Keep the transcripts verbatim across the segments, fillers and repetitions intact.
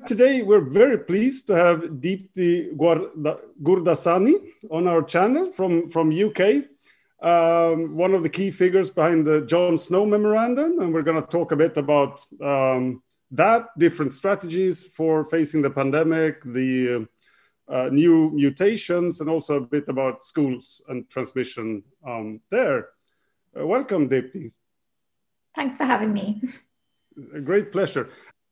today we're very pleased to have Deepti Gurdasani on our channel from, from U K, um, one of the key figures behind the John Snow Memorandum. And we're going to talk a bit about um, that, different strategies for facing the pandemic, the uh, new mutations, and also a bit about schools and transmission um, there. Uh, welcome, Deepti. Thanks for having me. A great pleasure.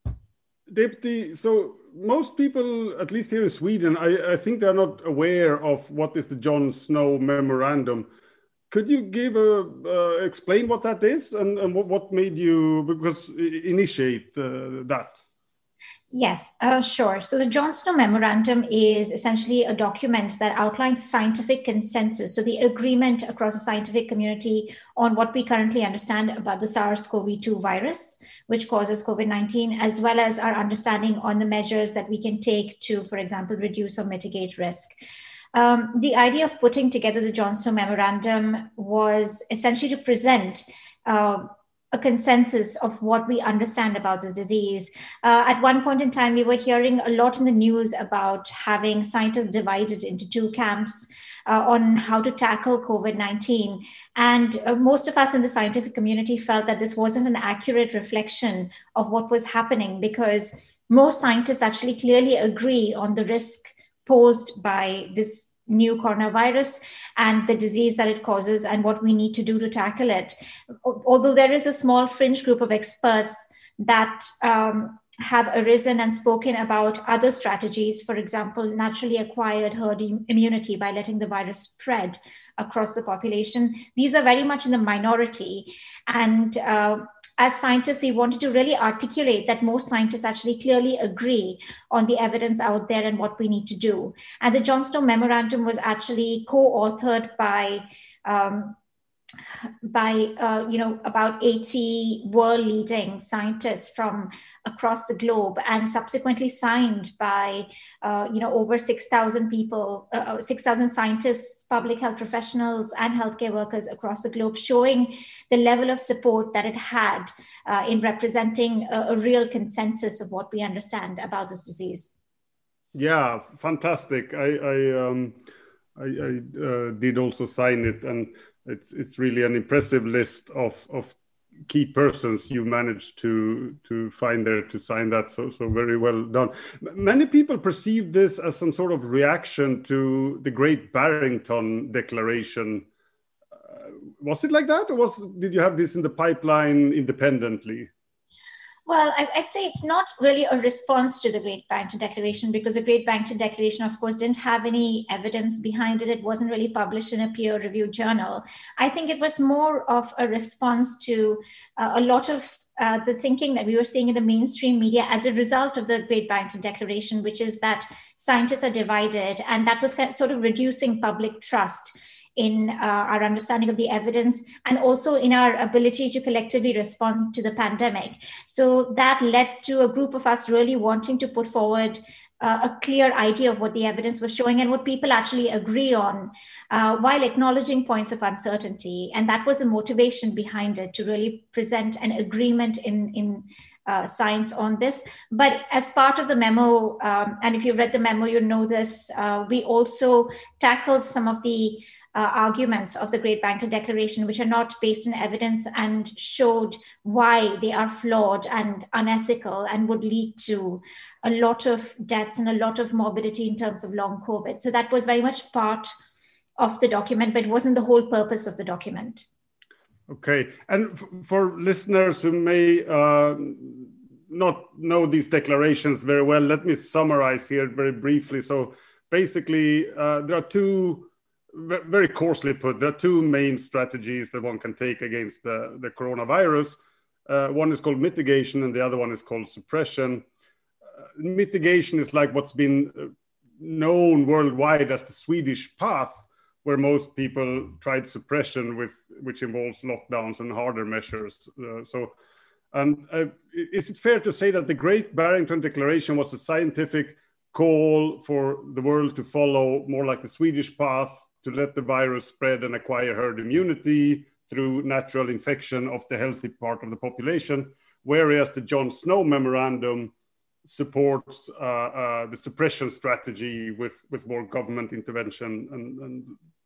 Deepti, so most people, at least here in Sweden, I, I think they're not aware of what is the John Snow Memorandum. Could you give a uh, explain what that is and, and what, what made you because initiate uh, that? Yes, uh, sure. So the John Snow Memorandum is essentially a document that outlines scientific consensus, so the agreement across the scientific community on what we currently understand about the SARS-C o V two virus, which causes COVID nineteen, as well as our understanding on the measures that we can take to, for example, reduce or mitigate risk. Um, the idea of putting together the John Snow Memorandum was essentially to present uh, a consensus of what we understand about this disease. Uh, at one point in time, we were hearing a lot in the news about having scientists divided into two camps uh, on how to tackle COVID nineteen. And uh, most of us in the scientific community felt that this wasn't an accurate reflection of what was happening, because most scientists actually clearly agree on the risk posed by this new coronavirus and the disease that it causes and what we need to do to tackle it. Although there is a small fringe group of experts that um, have arisen and spoken about other strategies, for example, naturally acquired herd immunity by letting the virus spread across the population. These are very much in the minority. And uh, as scientists, we wanted to really articulate that most scientists actually clearly agree on the evidence out there and what we need to do. And the John Snow Memorandum was actually co-authored by um, by, uh, you know, about eighty world-leading scientists from across the globe, and subsequently signed by, uh, you know, over six thousand people, uh, six thousand scientists, public health professionals, and healthcare workers across the globe, showing the level of support that it had uh, in representing a, a real consensus of what we understand about this disease. Yeah, fantastic. I, I, um, I, I uh, did also sign it, and It's it's really an impressive list of, of key persons you managed to to find there to sign that. So so very well done. Many people perceive this as some sort of reaction to the Great Barrington Declaration. Uh, was it like that, or was did you have this in the pipeline independently? Well, I'd say it's not really a response to the Great Barrington Declaration, because the Great Barrington Declaration, of course, didn't have any evidence behind it. It wasn't really published in a peer-reviewed journal. I think it was more of a response to uh, a lot of uh, the thinking that we were seeing in the mainstream media as a result of the Great Barrington Declaration, which is that scientists are divided, and that was kind of sort of reducing public trust in uh, our understanding of the evidence, and also in our ability to collectively respond to the pandemic. So that led to a group of us really wanting to put forward uh, a clear idea of what the evidence was showing and what people actually agree on, uh, while acknowledging points of uncertainty. And that was the motivation behind it, to really present an agreement in, in Uh, science on this. But as part of the memo, um, and if you've read the memo, you know this, uh, we also tackled some of the uh, arguments of the Great Barrington Declaration, which are not based in evidence, and showed why they are flawed and unethical and would lead to a lot of deaths and a lot of morbidity in terms of long COVID. So that was very much part of the document, but it wasn't the whole purpose of the document. Okay, and f- for listeners who may uh, not know these declarations very well, let me summarize here very briefly. So basically, uh, there are two, v- very coarsely put, there are two main strategies that one can take against the, the coronavirus. Uh, one is called mitigation, and the other one is called suppression. Uh, mitigation is like what's been known worldwide as the Swedish path, where most people tried suppression, with which involves lockdowns and harder measures. Uh, so, and uh, is it fair to say that the Great Barrington Declaration was a scientific call for the world to follow more like the Swedish path, to let the virus spread and acquire herd immunity through natural infection of the healthy part of the population, whereas the John Snow Memorandum supports uh, uh, the suppression strategy with, with more government intervention and, and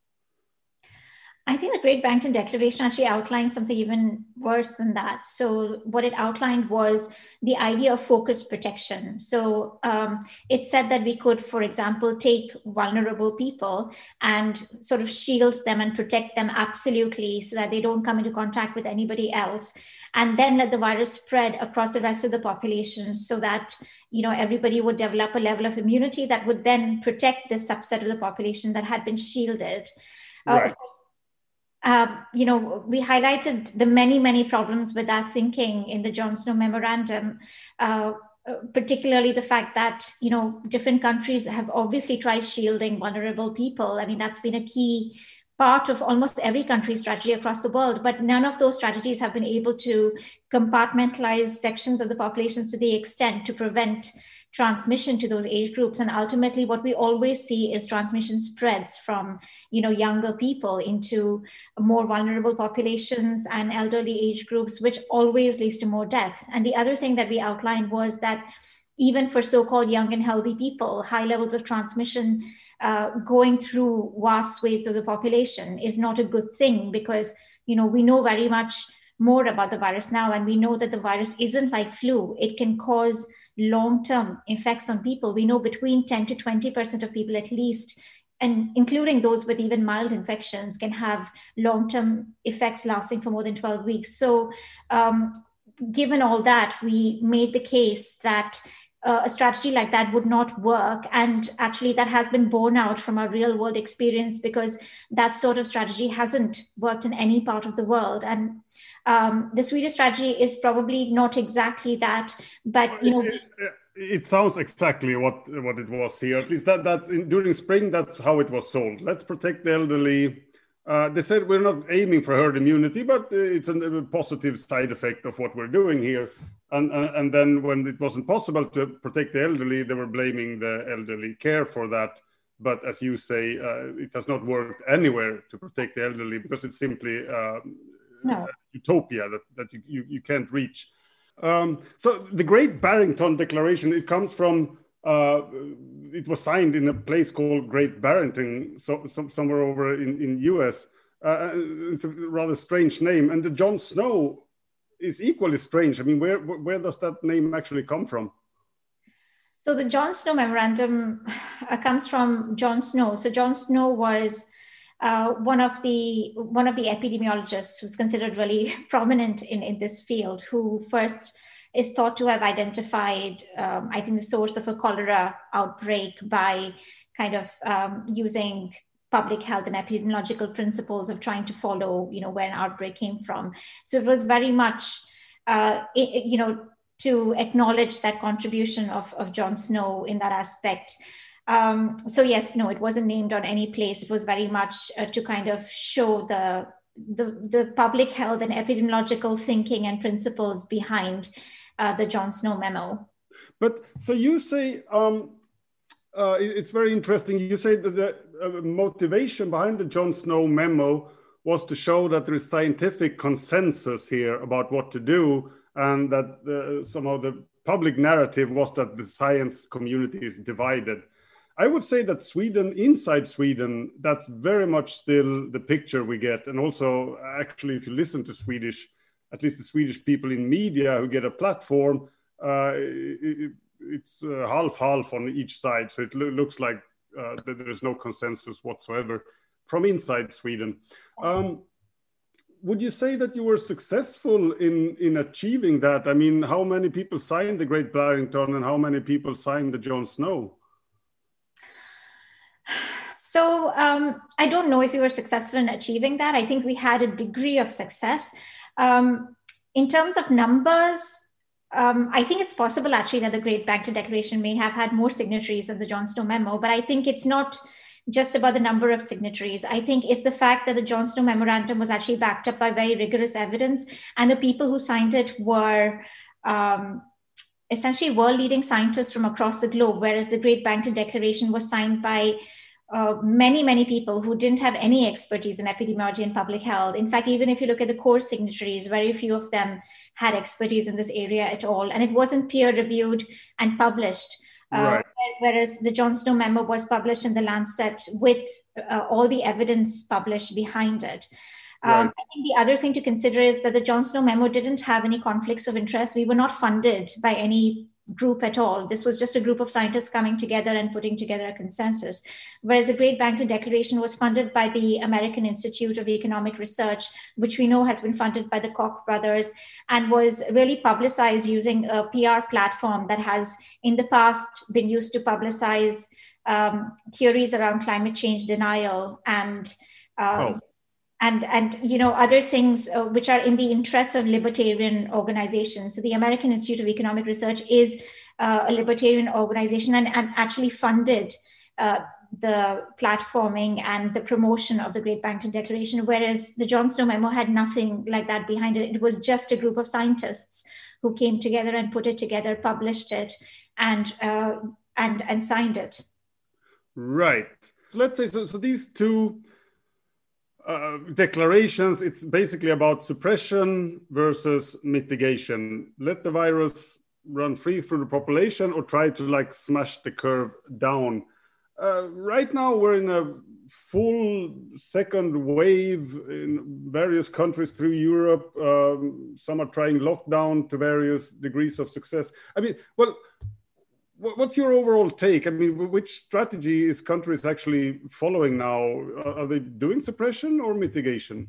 I think the Great Barrington Declaration actually outlined something even worse than that. So what it outlined was the idea of focused protection. So um, it said that we could, for example, take vulnerable people and sort of shield them and protect them absolutely so that they don't come into contact with anybody else, and then let the virus spread across the rest of the population so that, you know, everybody would develop a level of immunity that would then protect this subset of the population that had been shielded. Right. Uh, of course, Uh, you know, we highlighted the many, many problems with that thinking in the Jon Snow memorandum, uh, particularly the fact that, you know, different countries have obviously tried shielding vulnerable people. I mean, that's been a key part of almost every country's strategy across the world, but none of those strategies have been able to compartmentalize sections of the populations to the extent to prevent transmission to those age groups. And ultimately what we always see is transmission spreads from, you know, younger people into more vulnerable populations and elderly age groups, which always leads to more death. And the other thing that we outlined was that even for so-called young and healthy people, high levels of transmission uh, going through vast swathes of the population is not a good thing, because, you know, we know very much more about the virus now, and we know that the virus isn't like flu. It can cause long-term effects on people. We know between ten to twenty percent of people at least, and including those with even mild infections, can have long-term effects lasting for more than twelve weeks. So um, given all that, we made the case that uh, a strategy like that would not work. And actually that has been borne out from our real world experience, because that sort of strategy hasn't worked in any part of the world. And um, the Swedish strategy is probably not exactly that, but you know, it, it, it sounds exactly what what it was here. At least that that's in, during spring, that's how it was sold. Let's protect the elderly. Uh, they said we're not aiming for herd immunity, but it's a, a positive side effect of what we're doing here. And, and and then when it wasn't possible to protect the elderly, they were blaming the elderly care for that. But as you say, uh, it has not worked anywhere to protect the elderly, because it's simply uh, no. utopia that, that you, you, you can't reach. Um, so the Great Barrington Declaration, it comes from, uh, it was signed in a place called Great Barrington, so, so somewhere over in, in U S. Uh, it's a rather strange name. And the Jon Snow is equally strange. I mean, where, where does that name actually come from? So the Jon Snow memorandum uh, comes from Jon Snow. So Jon Snow was uh, one of the one of the epidemiologists who's considered really prominent in, in this field, who first is thought to have identified, um, I think, the source of a cholera outbreak by kind of um, using public health and epidemiological principles of trying to follow, you know, where an outbreak came from. So it was very much, uh, it, you know, to acknowledge that contribution of, of Jon Snow in that aspect. Um, so yes, no, it wasn't named on any place. It was very much uh, to kind of show the, the, the public health and epidemiological thinking and principles behind uh, the Jon Snow memo. But so you say, um, uh, it's very interesting. You say that the uh, motivation behind the Jon Snow memo was to show that there is scientific consensus here about what to do, and that uh, somehow the public narrative was that the science community is divided. I would say that Sweden, inside Sweden, that's very much still the picture we get. And also, actually, if you listen to Swedish, at least the Swedish people in media who get a platform, uh, it, it's uh, half-half on each side. So it lo- looks like uh, that there is no consensus whatsoever from inside Sweden. Um, Would you say that you were successful in, in achieving that? I mean, how many people signed the Great Barrington and how many people signed the Jon Snow? So um, I don't know if we were successful in achieving that. I think we had a degree of success. Um, in terms of numbers, um, I think it's possible actually that the Great Barrington Declaration may have had more signatories than the Jon Snow memo, but I think it's not just about the number of signatories. I think it's the fact that the Jon Snow memorandum was actually backed up by very rigorous evidence, and the people who signed it were um, essentially world-leading scientists from across the globe, whereas the Great Barrington Declaration was signed by uh, many, many people who didn't have any expertise in epidemiology and public health. In fact, even if you look at the core signatories, very few of them had expertise in this area at all. And it wasn't peer reviewed and published. Uh, right. Whereas the John Snow memo was published in the Lancet with uh, all the evidence published behind it. Um, right. I think the other thing to consider is that the John Snow memo didn't have any conflicts of interest. We were not funded by any group at all. This was just a group of scientists coming together and putting together a consensus. Whereas the Great Barrington Declaration was funded by the American Institute of Economic Research, which we know has been funded by the Koch brothers, and was really publicized using a P R platform that has in the past been used to publicize um, theories around climate change denial and um, oh. And, and you know, other things uh, which are in the interests of libertarian organizations. So the American Institute of Economic Research is uh, a libertarian organization and, and actually funded uh, the platforming and the promotion of the Great Barrington Declaration, whereas the John Snow memo had nothing like that behind it. It was just a group of scientists who came together and put it together, published it, and uh, and and signed it. Right. So let's say so. So these two. Uh, declarations, it's basically about suppression versus mitigation. Let the virus run free through the population or try to like smash the curve down. Uh, right now, we're in a full second wave in various countries through Europe. Um, some are trying lockdown to various degrees of success. I mean, well, what's your overall take? I mean, which strategy is countries actually following now? Are they doing suppression or mitigation?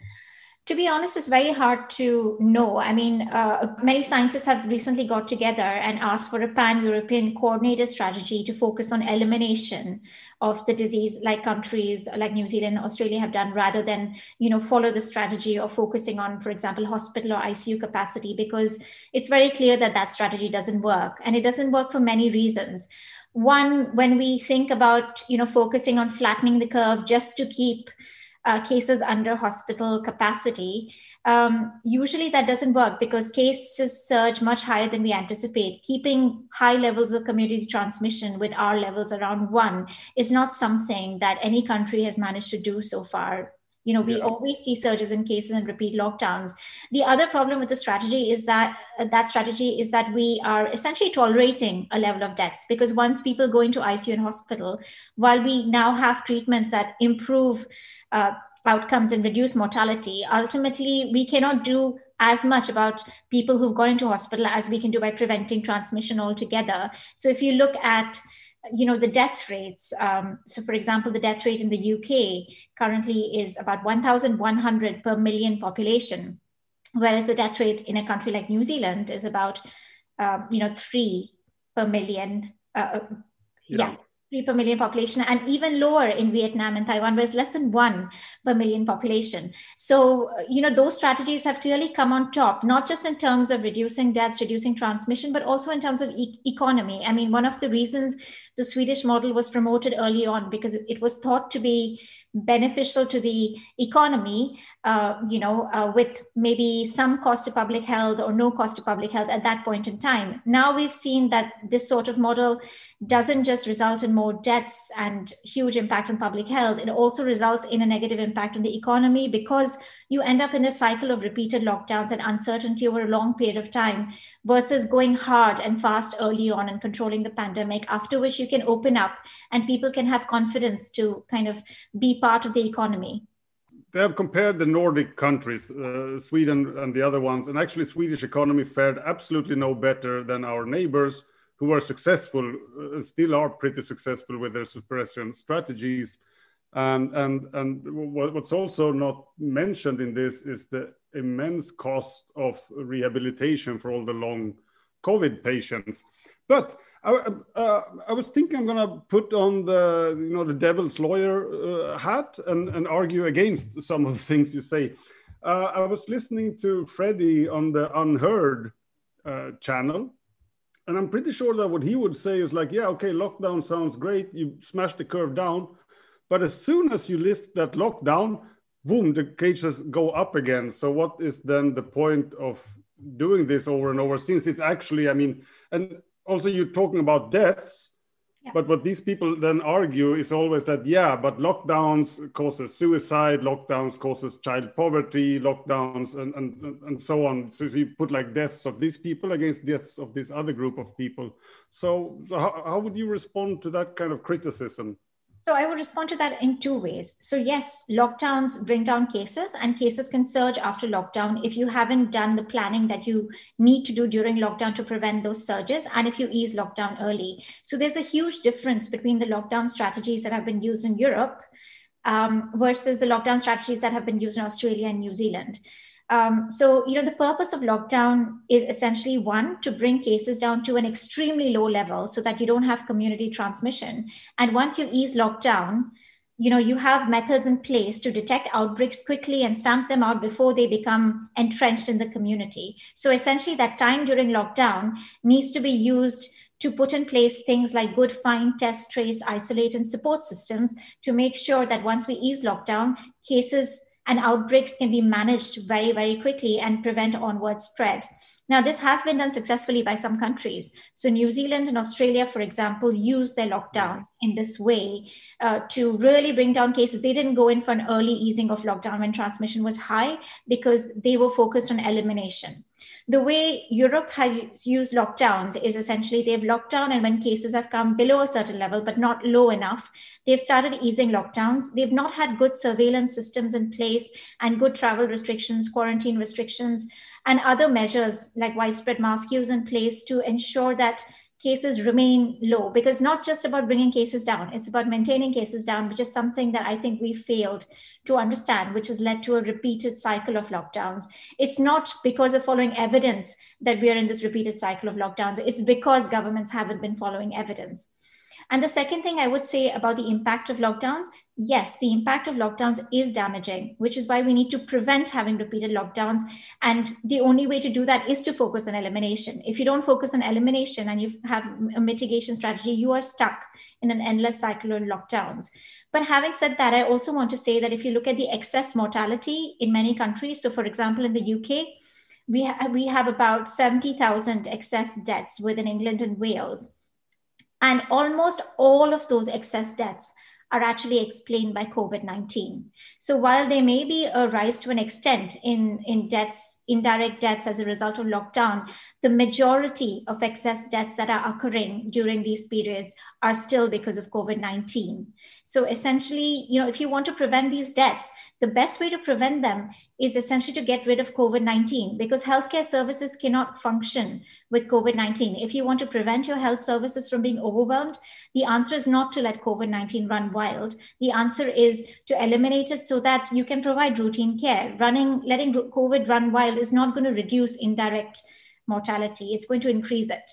To be honest, it's very hard to know. I mean, uh, many scientists have recently got together and asked for a pan-European coordinated strategy to focus on elimination of the disease, like countries like New Zealand and Australia have done, rather than, you know, follow the strategy of focusing on, for example, hospital or I C U capacity, because it's very clear that that strategy doesn't work. And it doesn't work for many reasons. One, when we think about, you know, focusing on flattening the curve just to keep Uh, cases under hospital capacity, um, usually that doesn't work because cases surge much higher than we anticipate. Keeping high levels of community transmission with R levels around one is not something that any country has managed to do so far. You know, we yeah. always see surges in cases and repeat lockdowns. The other problem with the strategy is that uh, that strategy is that we are essentially tolerating a level of deaths, because once people go into I C U and hospital, while we now have treatments that improve uh, outcomes and reduce mortality, ultimately we cannot do as much about people who've gone into hospital as we can do by preventing transmission altogether. So if you look at you know, the death rates. Um, so for example, the death rate in the U K currently is about one thousand one hundred per million population, whereas the death rate in a country like New Zealand is about, um, you know, three per million. Uh, yeah. yeah. three per million population, and even lower in Vietnam and Taiwan, where it's less than one per million population. So, you know, those strategies have clearly come on top, not just in terms of reducing deaths, reducing transmission, but also in terms of e- economy. I mean, one of the reasons the Swedish model was promoted early on, because it was thought to be beneficial to the economy, uh, you know, uh, with maybe some cost to public health or no cost to public health at that point in time. Now we've seen that this sort of model doesn't just result in more deaths and huge impact on public health. It also results in a negative impact on the economy, because you end up in this cycle of repeated lockdowns and uncertainty over a long period of time, versus going hard and fast early on and controlling the pandemic, after which you can open up and people can have confidence to kind of be part of the economy. They have compared the Nordic countries, uh, Sweden and the other ones, and actually Swedish economy fared absolutely no better than our neighbors, who are successful, uh, still are pretty successful with their suppression strategies. And, and, and what's also not mentioned in this is the immense cost of rehabilitation for all the long COVID patients. But I, uh, I was thinking I'm going to put on the, you know, the devil's lawyer uh, hat and, and argue against some of the things you say. Uh, I was listening to Freddie on the Unheard uh, channel, and I'm pretty sure that what he would say is like, yeah, okay, lockdown sounds great. You smash the curve down. But as soon as you lift that lockdown, boom, the cases go up again. So what is then the point of doing this over and over, since it's actually, I mean, and also you're talking about deaths. Yeah. But what these people then argue is always that, yeah, but lockdowns causes suicide, lockdowns causes child poverty, lockdowns and, and, and so on. So we put like deaths of these people against deaths of this other group of people. So, so how, how would you respond to that kind of criticism? So I would respond to that in two ways. So yes, lockdowns bring down cases, and cases can surge after lockdown if you haven't done the planning that you need to do during lockdown to prevent those surges, and if you ease lockdown early. So there's a huge difference between the lockdown strategies that have been used in Europe um, versus the lockdown strategies that have been used in Australia and New Zealand. Um, so, you know, the purpose of lockdown is essentially, one, to bring cases down to an extremely low level so that you don't have community transmission. And once you ease lockdown, you know, you have methods in place to detect outbreaks quickly and stamp them out before they become entrenched in the community. So essentially that time during lockdown needs to be used to put in place things like good, find, test, trace, isolate, and support systems to make sure that once we ease lockdown, cases and outbreaks can be managed very, very quickly and prevent onward spread. Now, this has been done successfully by some countries. So New Zealand and Australia, for example, used their lockdowns in this way uh, to really bring down cases. They didn't go in for an early easing of lockdown when transmission was high because they were focused on elimination. The way Europe has used lockdowns is essentially they've locked down, and when cases have come below a certain level, but not low enough, they've started easing lockdowns. They've not had good surveillance systems in place and good travel restrictions, quarantine restrictions, and other measures like widespread mask use in place to ensure that cases remain low, because not just about bringing cases down, it's about maintaining cases down, which is something that I think we failed to understand, which has led to a repeated cycle of lockdowns. It's not because of following evidence that we are in this repeated cycle of lockdowns. It's because governments haven't been following evidence. And the second thing I would say about the impact of lockdowns, yes, the impact of lockdowns is damaging, which is why we need to prevent having repeated lockdowns. And the only way to do that is to focus on elimination. If you don't focus on elimination and you have a mitigation strategy, you are stuck in an endless cycle of lockdowns. But having said that, I also want to say that if you look at the excess mortality in many countries, so for example, in the U K, we, ha- we have about seventy thousand excess deaths within England and Wales. And almost all of those excess deaths are actually explained by COVID nineteen. So while there may be a rise to an extent in, in deaths, indirect deaths as a result of lockdown, the majority of excess deaths that are occurring during these periods are still because of COVID nineteen. So essentially, you know, if you want to prevent these deaths, the best way to prevent them is essentially to get rid of COVID nineteen, because healthcare services cannot function with COVID nineteen. If you want to prevent your health services from being overwhelmed, the answer is not to let COVID nineteen run wild. The answer is to eliminate it so that you can provide routine care. Running, letting COVID run wild is not going to reduce indirect mortality. It's going to increase it.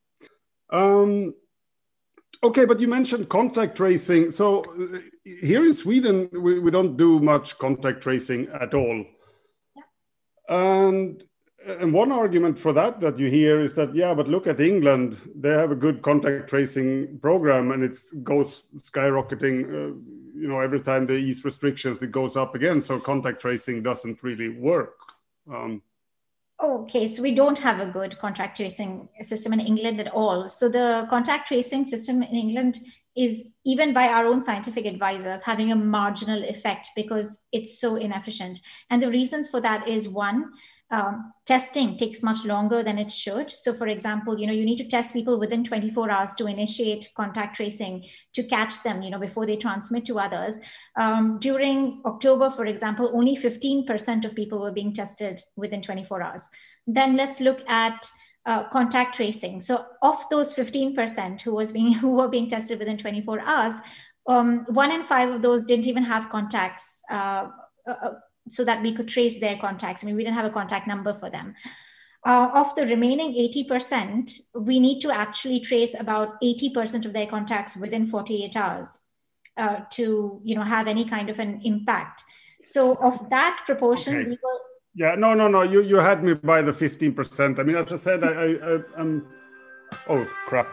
Um, okay, but you mentioned contact tracing. So uh, here in Sweden, we, we don't do much contact tracing at all. Yeah. And, and one argument for that that you hear is that, yeah, but look at England. They have a good contact tracing program and it goes skyrocketing. Uh, you know, every time they ease restrictions, it goes up again. So contact tracing doesn't really work. Um, Okay, so we don't have a good contact tracing system in England at all. So the contact tracing system in England is, even by our own scientific advisors, having a marginal effect because it's so inefficient. And the reasons for that is, one, um, testing takes much longer than it should. So for example, you know, you need to test people within twenty-four hours to initiate contact tracing to catch them, you know, before they transmit to others. Um, during October, for example, only fifteen percent of people were being tested within twenty-four hours. Then let's look at uh, contact tracing. So of those fifteen percent who was being who were being tested within twenty-four hours, um, one in five of those didn't even have contacts uh, uh, so that we could trace their contacts. I mean, we didn't have a contact number for them. Uh, of the remaining eighty percent, we need to actually trace about eighty percent of their contacts within forty-eight hours uh, to, you know, have any kind of an impact. So of that proportion, okay. we were... Yeah, no, no, no. You you had me by the fifteen percent. I mean, as I said, I, I, I I'm. Oh crap!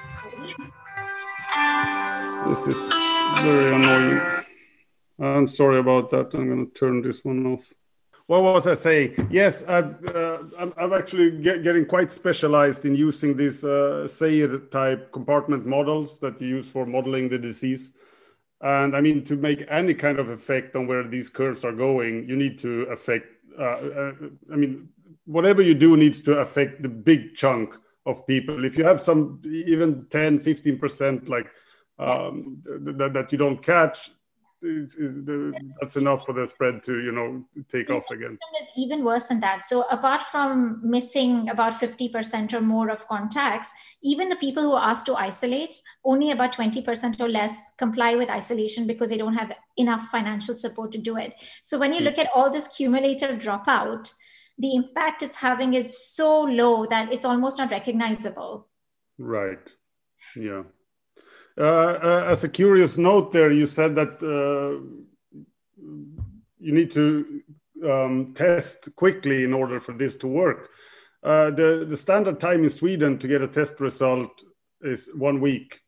This is very annoying. I'm sorry about that. I'm going to turn this one off. what was I saying? Yes, I've, uh, I'm, I'm actually get, getting quite specialized in using these uh, Seir type compartment models that you use for modeling the disease. And I mean, to make any kind of effect on where these curves are going, you need to affect, uh, uh, I mean, whatever you do needs to affect the big chunk of people. If you have some, even ten, fifteen percent like um, th- th- that you don't catch, It's, it's, that's enough for the spread to, you know, take the off again. Is even worse than that. So apart from missing about fifty percent or more of contacts, even the people who are asked to isolate, only about twenty percent or less comply with isolation because they don't have enough financial support to do it. So when you look at all this cumulative dropout, the impact it's having is so low that it's almost not recognizable. Right. Yeah. Uh, uh, as a curious note there, you said that uh, you need to um, test quickly in order for this to work. Uh, the, the standard time in Sweden to get a test result is one week.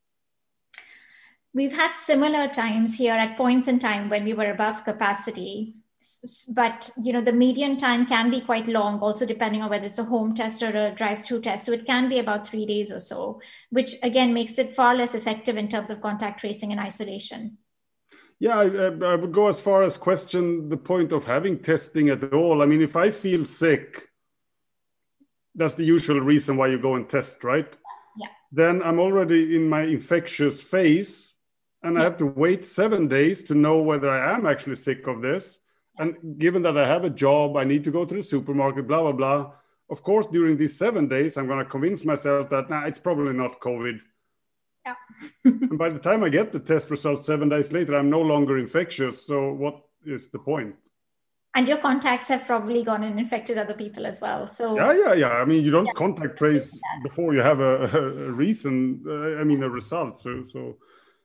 We've had similar times here at points in time when we were above capacity. But, you know, the median time can be quite long, also depending on whether it's a home test or a drive-through test. So it can be about three days or so, which again makes it far less effective in terms of contact tracing and isolation. Yeah, I, I would go as far as question the point of having testing at all. I mean, if I feel sick, that's the usual reason why you go and test, right? Yeah. Then I'm already in my infectious phase, and yeah. I have to wait seven days to know whether I am actually sick of this. And given that I have a job, I need to go to the supermarket, blah, blah, blah. Of course, during these seven days, I'm going to convince myself that, nah, it's probably not COVID. Yeah. And by the time I get the test results seven days later, I'm no longer infectious. So what is the point? And your contacts have probably gone and infected other people as well. So yeah, yeah, yeah. I mean, you don't yeah. contact trace before you have a, a reason, uh, I mean, a result. So, so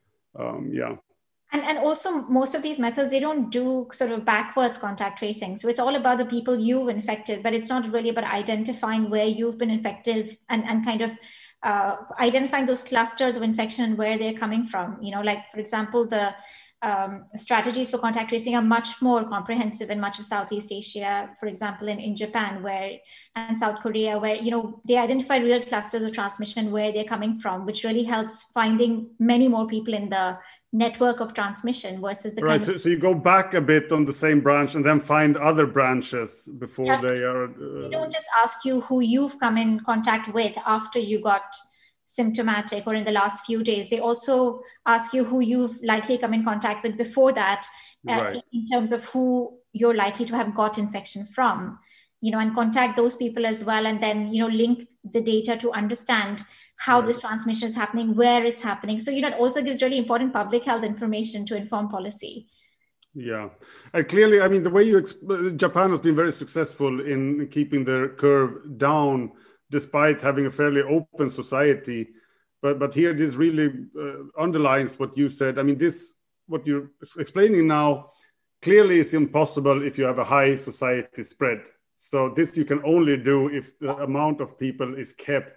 um, yeah. And, and also most of these methods, they don't do sort of backwards contact tracing. So it's all about the people you've infected, but it's not really about identifying where you've been infected and, and kind of uh, identifying those clusters of infection and where they're coming from. You know, like, for example, the um, strategies for contact tracing are much more comprehensive in much of Southeast Asia, for example, in, in Japan where and South Korea, where, you know, they identify real clusters of transmission where they're coming from, which really helps finding many more people in the network of transmission versus the right. kind So, of, so you go back a bit on the same branch and then find other branches before just, they are. Uh, they don't just ask you who you've come in contact with after you got symptomatic or in the last few days. They also ask you who you've likely come in contact with before that, uh, right. in, in terms of who you're likely to have got infection from, you know, and contact those people as well. And then, you know, link the data to understand how right. this transmission is happening, where it's happening. So, you know, it also gives really important public health information to inform policy. Yeah. And clearly, I mean, the way you, exp- Japan has been very successful in keeping their curve down, despite having a fairly open society. But but here, this really uh, underlines what you said. I mean, this, what you're explaining now, clearly is impossible if you have a high society spread. So this you can only do if the amount of people is kept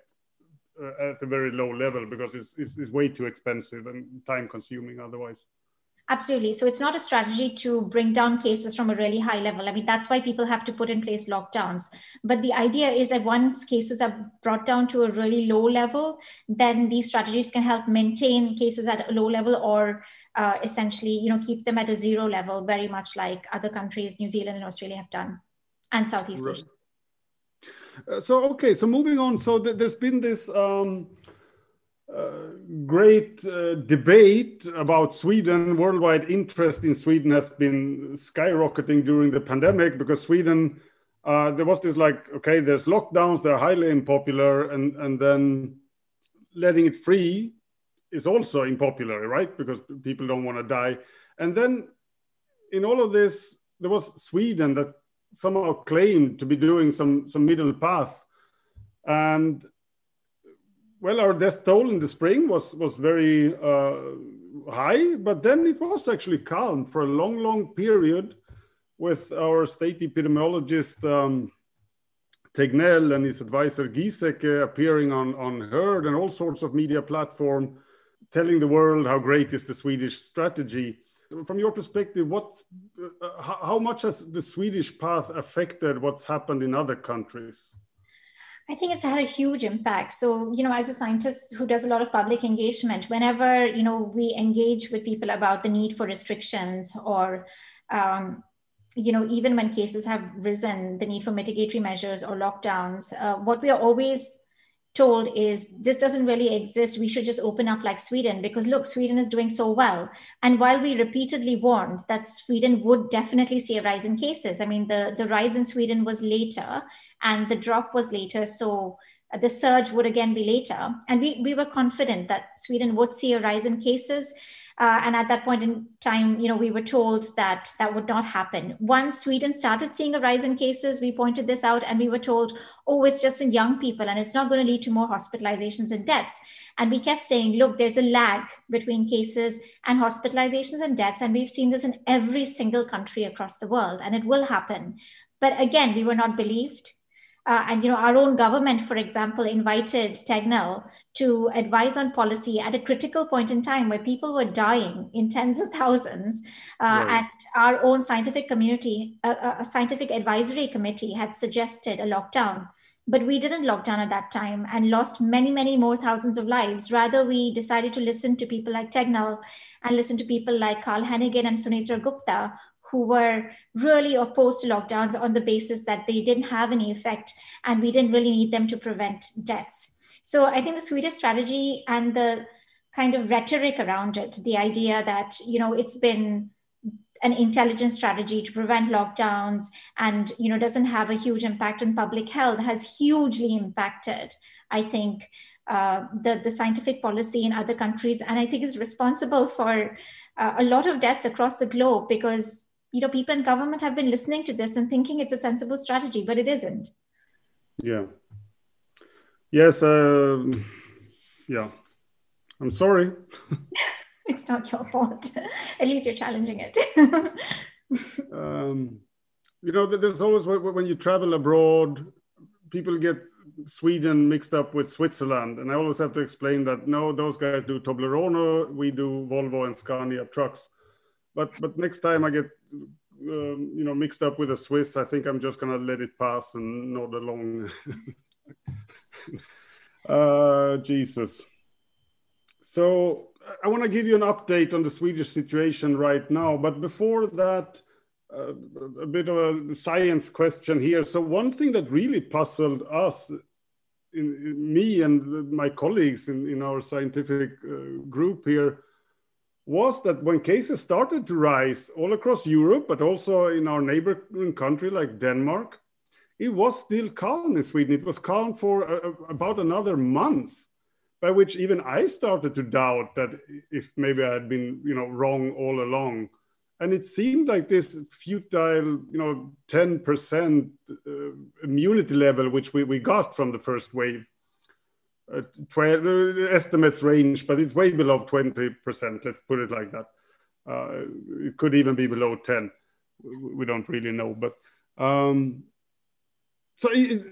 uh, at a very low level, because it's, it's, it's way too expensive and time consuming otherwise. Absolutely. So it's not a strategy to bring down cases from a really high level. I mean, that's why people have to put in place lockdowns. But the idea is that once cases are brought down to a really low level, then these strategies can help maintain cases at a low level or uh, essentially, you know, keep them at a zero level, very much like other countries, New Zealand and Australia have done, and Southeast Asia. Uh, so, okay, so moving on. So th- there's been this... Um... Uh, great uh, debate about Sweden. Worldwide interest in Sweden has been skyrocketing during the pandemic because Sweden, uh, there was this like, okay, there's lockdowns, they're highly unpopular, and, and then letting it free is also unpopular, right? Because people don't want to die. And then in all of this, there was Sweden that somehow claimed to be doing some, some middle path. And well, our death toll in the spring was, was very uh, high, but then it was actually calm for a long, long period with our state epidemiologist, um, Tegnell, and his advisor, Giesecke, appearing on, on Herd and all sorts of media platform, telling the world how great is the Swedish strategy. from your perspective, what, uh, how, how much has the Swedish path affected what's happened in other countries? I think it's had a huge impact. So, you know, as a scientist who does a lot of public engagement, whenever, you know, we engage with people about the need for restrictions or, um, you know, even when cases have risen, the need for mitigatory measures or lockdowns, uh, what we are always told is this doesn't really exist. We should just open up like Sweden because look, Sweden is doing so well. And while we repeatedly warned that Sweden would definitely see a rise in cases, I mean, the, the rise in Sweden was later and the drop was later. So the surge would again be later. And we, we were confident that Sweden would see a rise in cases. Uh, and at that point in time, you know, we were told that that would not happen. Once Sweden started seeing a rise in cases, we pointed this out and we were told, oh, it's just in young people and it's not going to lead to more hospitalizations and deaths. And we kept saying, look, there's a lag between cases and hospitalizations and deaths. And we've seen this in every single country across the world and it will happen. But again, we were not believed. Uh, and, you know, our own government, for example, invited Tegnell to advise on policy at a critical point in time where people were dying in tens of thousands. Uh, right. And our own scientific community, a, a scientific advisory committee had suggested a lockdown. But we didn't lock down at that time and lost many, many more thousands of lives. Rather, we decided to listen to people like Tegnell and listen to people like Carl Hennigan and Sunitra Gupta, who were really opposed to lockdowns on the basis that they didn't have any effect and we didn't really need them to prevent deaths. So I think the Swedish strategy and the kind of rhetoric around it, the idea that, you know, it's been an intelligent strategy to prevent lockdowns and, you know, doesn't have a huge impact on public health has hugely impacted, I think, uh, the, the scientific policy in other countries. And I think is responsible for uh, a lot of deaths across the globe because you know, people in government have been listening to this and thinking it's a sensible strategy, but it isn't. Yeah. Yes. Uh, yeah. I'm sorry. It's not your fault. At least you're challenging it. um, you know, there's always, when you travel abroad, people get Sweden mixed up with Switzerland. And I always have to explain that, no, those guys do Toblerone, we do Volvo and Scania trucks. But but next time I get um, you know mixed up with a Swiss, I think I'm just gonna let it pass and nod along. uh, Jesus. So I want to give you an update on the Swedish situation right now. But before that, uh, a bit of a science question here. So one thing that really puzzled us, in, in me and my colleagues in, in our scientific uh, group here, was that when cases started to rise all across Europe, but also in our neighboring country like Denmark, it was still calm in Sweden. It was calm for a, about another month, by which even I started to doubt that if maybe I had been, you know, wrong all along. And it seemed like this futile, you know, ten percent uh, immunity level, which we, we got from the first wave. Uh, twelve, uh, estimates range, but it's way below twenty percent. Let's put it like that. Uh, it could even be below ten. We don't really know. But um, so, it,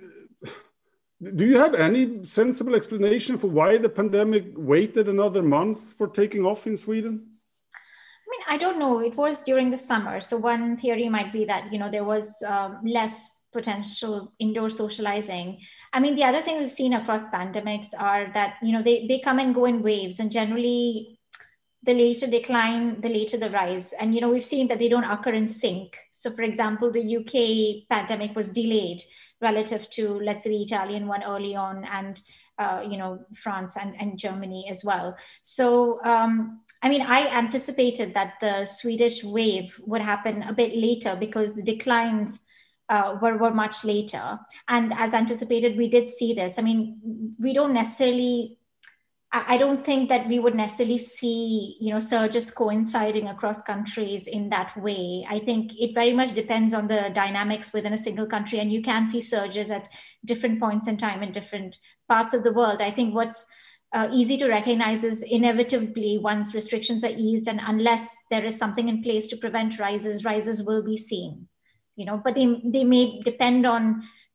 do you have any sensible explanation for why the pandemic waited another month for taking off in Sweden? I mean, I don't know. It was during the summer. So one theory might be that, you know, there was um, less potential indoor socializing. I mean, the other thing we've seen across pandemics are that, you know, they, they come and go in waves, and generally the later decline, the later the rise. And, you know, we've seen that they don't occur in sync. So for example, the U K pandemic was delayed relative to, let's say, the Italian one early on, and, uh, you know, France and, and Germany as well. So, um, I mean, I anticipated that the Swedish wave would happen a bit later because the declines Uh, were, were much later. And as anticipated, we did see this. I mean, we don't necessarily, I don't think that we would necessarily see, you know, surges coinciding across countries in that way. I think it very much depends on the dynamics within a single country, and you can see surges at different points in time in different parts of the world. I think what's uh, easy to recognize is inevitably once restrictions are eased, and unless there is something in place to prevent rises, rises will be seen. You know, but they, they may depend on,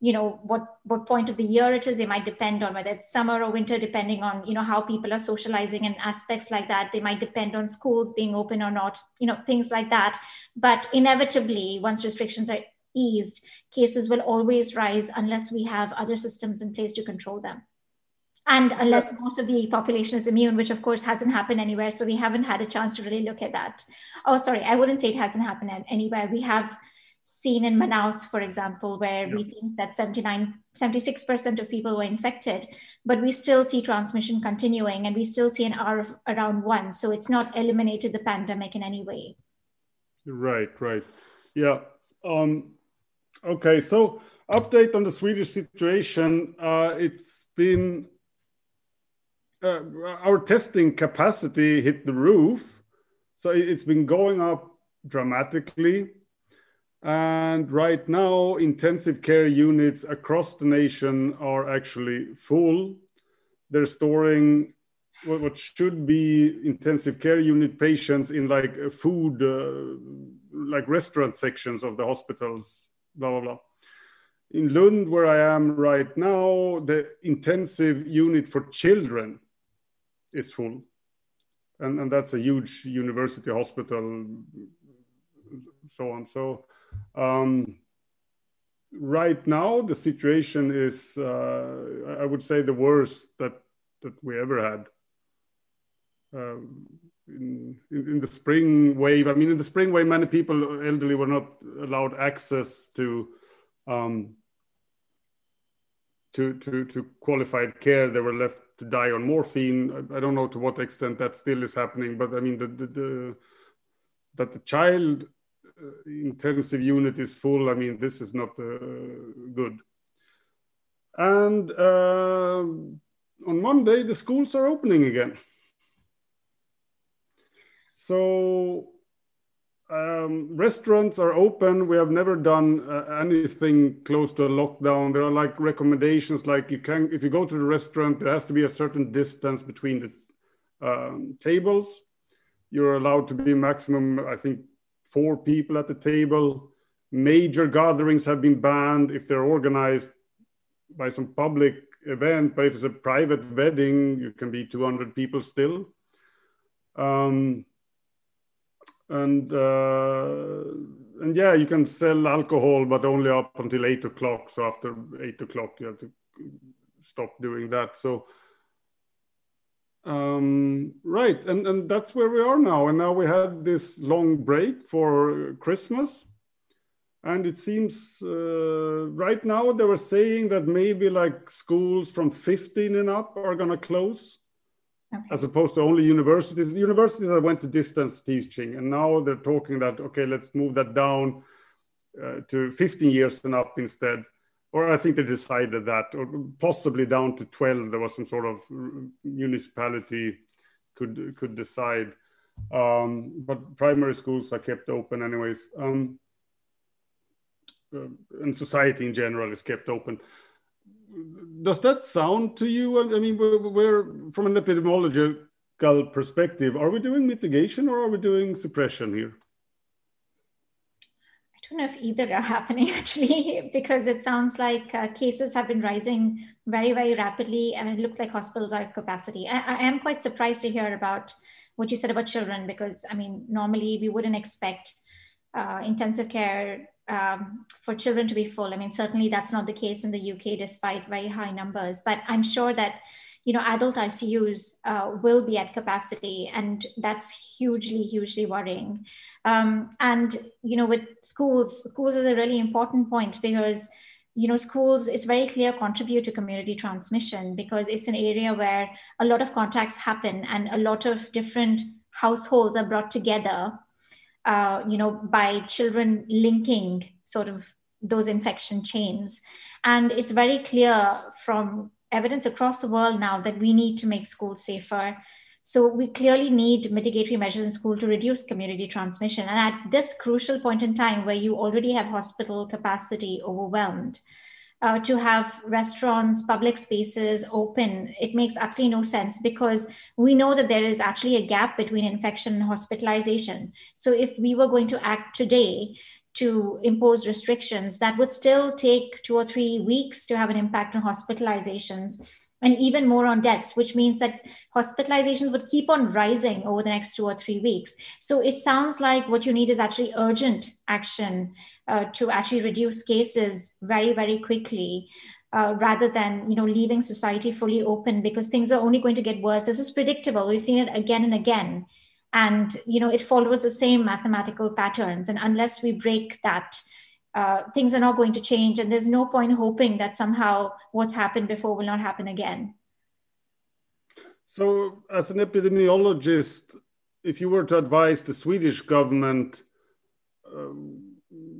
you know, what, what point of the year it is. They might depend on whether it's summer or winter, depending on, you know, how people are socializing and aspects like that. They might depend on schools being open or not, you know, things like that. But inevitably, once restrictions are eased, cases will always rise unless we have other systems in place to control them. And unless most of the population is immune, which of course hasn't happened anywhere. So we haven't had a chance to really look at that. Oh, sorry, I wouldn't say it hasn't happened anywhere. We have seen in Manaus, for example, where yeah. we think that seventy-nine, seventy-six percent of people were infected, but we still see transmission continuing and we still see an R of around one. So it's not eliminated the pandemic in any way. Right, right. Yeah. Um, okay, so update on the Swedish situation. Uh, it's been, uh, our testing capacity hit the roof. So it's been going up dramatically. And right now, intensive care units across the nation are actually full. They're storing what should be intensive care unit patients in like food, uh, like restaurant sections of the hospitals, blah, blah, blah. In Lund, where I am right now, the intensive unit for children is full. And, and that's a huge university hospital, so on. So um, right now, the situation is, uh, I would say, the worst that, that we ever had. Um, in, in, in the spring wave, I mean, in the spring wave, many people, elderly, were not allowed access to um, to, to, to qualified care. They were left to die on morphine. I, I don't know to what extent that still is happening, but I mean, the, the, the, that the child uh, intensive unit is full, I mean, this is not uh, good. And uh, on Monday, the schools are opening again. So um, restaurants are open. We have never done uh, anything close to a lockdown. There are like recommendations, like you can, if you go to the restaurant, there has to be a certain distance between the um, tables. You're allowed to be maximum, I think, four people at the table. Major gatherings have been banned if they're organized by some public event, but if it's a private wedding, you can be two hundred people still. Um, And uh, and yeah, you can sell alcohol, but only up until eight o'clock. So after eight o'clock, you have to stop doing that. So um, right, and and that's where we are now. And now we had this long break for Christmas, and it seems uh, right now they were saying that maybe like schools from fifteen and up are going to close. Okay. As opposed to only universities. Universities that went to distance teaching, and now they're talking that, okay, let's move that down uh, to fifteen years and up instead. Or I think they decided that, or possibly down to twelve. There was some sort of municipality could could decide. Um, but primary schools are kept open anyways. Um, uh, and society in general is kept open. Does that sound to you? I mean, we're, we're from an epidemiological perspective, are we doing mitigation or are we doing suppression here? I don't know if either are happening actually, because it sounds like uh, cases have been rising very, very rapidly, and it looks like hospitals are at capacity. I, I am quite surprised to hear about what you said about children, because I mean, normally we wouldn't expect uh, intensive care Um, for children to be full. I mean, certainly that's not the case in the U K, despite very high numbers. But I'm sure that, you know, adult I C Us uh, will be at capacity, and that's hugely, hugely worrying. Um, and, you know, with schools, schools is a really important point, because, you know, schools, it's very clear, contribute to community transmission, because it's an area where a lot of contacts happen and a lot of different households are brought together Uh, you know, by children linking sort of those infection chains. And it's very clear from evidence across the world now that we need to make schools safer. So we clearly need mitigatory measures in school to reduce community transmission. And at this crucial point in time, where you already have hospital capacity overwhelmed, Uh, to have restaurants, public spaces open, it makes absolutely no sense, because we know that there is actually a gap between infection and hospitalization. So if we were going to act today to impose restrictions, that would still take two or three weeks to have an impact on hospitalizations, and even more on deaths, which means that hospitalizations would keep on rising over the next two or three weeks. So it sounds like what you need is actually urgent action uh, to actually reduce cases very, very quickly, uh, rather than, you know, leaving society fully open, because things are only going to get worse. This is predictable. We've seen it again and again. And, you know, it follows the same mathematical patterns. And unless we break that, Uh, things are not going to change, and there's no point hoping that somehow what's happened before will not happen again. So, as an epidemiologist, if you were to advise the Swedish government, um,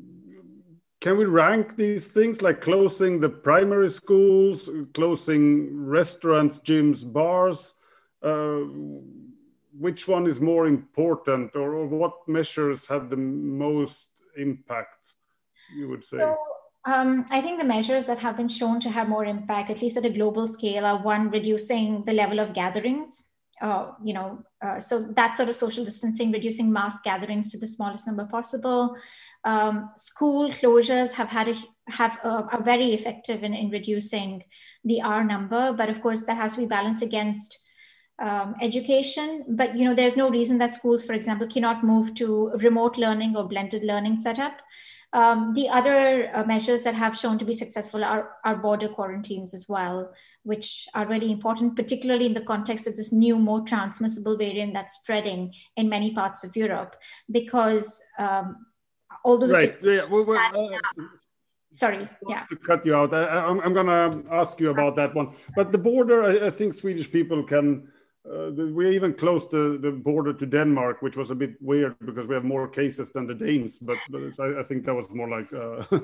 can we rank these things, like closing the primary schools, closing restaurants, gyms, bars? Uh, which one is more important, or, or what measures have the most impact, you would say? So, um, I think the measures that have been shown to have more impact, at least at a global scale, are one, reducing the level of gatherings. Uh, you know, uh, so that sort of social distancing, reducing mass gatherings to the smallest number possible. Um, school closures have had a, have a, are very effective in, in reducing the R number, but of course that has to be balanced against um, education. But you know, there's no reason that schools, for example, cannot move to remote learning or blended learning setup. Um, the other uh, measures that have shown to be successful are, are border quarantines as well, which are really important, particularly in the context of this new, more transmissible variant that's spreading in many parts of Europe. Because um, although right, the yeah, well, well, uh, sorry, yeah, to cut you out, I, I'm, I'm going to ask you about that one. But the border, I, I think Swedish people can. Uh, the, we even closed the, the border to Denmark, which was a bit weird because we have more cases than the Danes. But, but I, I think that was more like uh,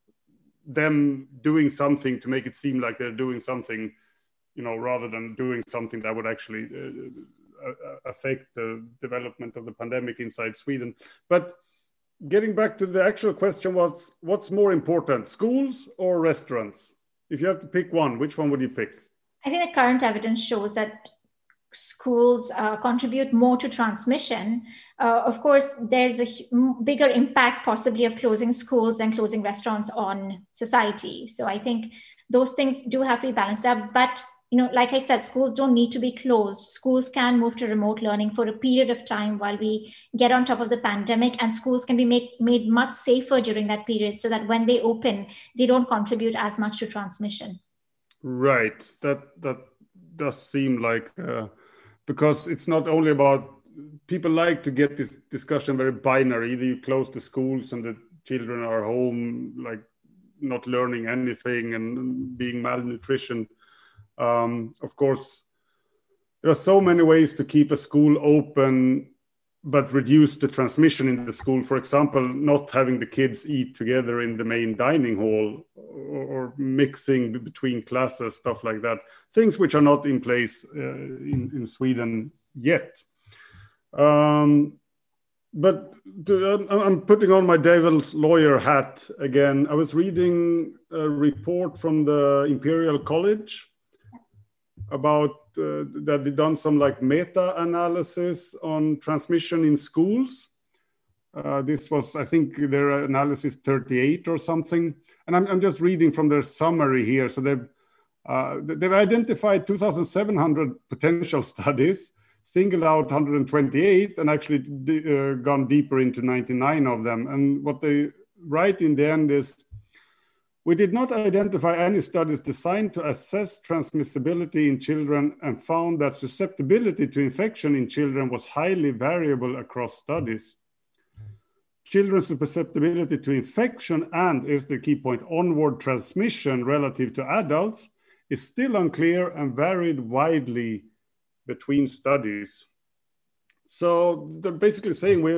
them doing something to make it seem like they're doing something, you know, rather than doing something that would actually uh, affect the development of the pandemic inside Sweden. But getting back to the actual question, what's, what's more important, schools or restaurants? If you have to pick one, which one would you pick? I think the current evidence shows that schools uh, contribute more to transmission. Uh, of course, there's a bigger impact possibly of closing schools and closing restaurants on society. So I think those things do have to be balanced out. But, you know, like I said, schools don't need to be closed. Schools can move to remote learning for a period of time while we get on top of the pandemic, and schools can be made, made much safer during that period so that when they open, they don't contribute as much to transmission. Right. That, that does seem like... Uh... Because it's not only about, people like to get this discussion very binary. Either you close the schools and the children are home, like not learning anything and being malnutrition. Um, of course, there are so many ways to keep a school open, but reduce the transmission in the school. For example, not having the kids eat together in the main dining hall, or, or mixing between classes, stuff like that. Things which are not in place uh, in, in Sweden yet. Um, but to, I'm putting on my devil's lawyer hat again. I was reading a report from the Imperial College about uh, that they've done some like meta-analysis on transmission in schools. Uh, this was, I think, their analysis thirty-eight or something. And I'm, I'm just reading from their summary here. So they've, uh, they've identified two thousand seven hundred potential studies, singled out one hundred twenty-eight, and actually uh, gone deeper into ninety-nine of them. And what they write in the end is, we did not identify any studies designed to assess transmissibility in children, and found that susceptibility to infection in children was highly variable across studies. Children's susceptibility to infection and, is the key point, onward transmission relative to adults is still unclear and varied widely between studies. So they're basically saying we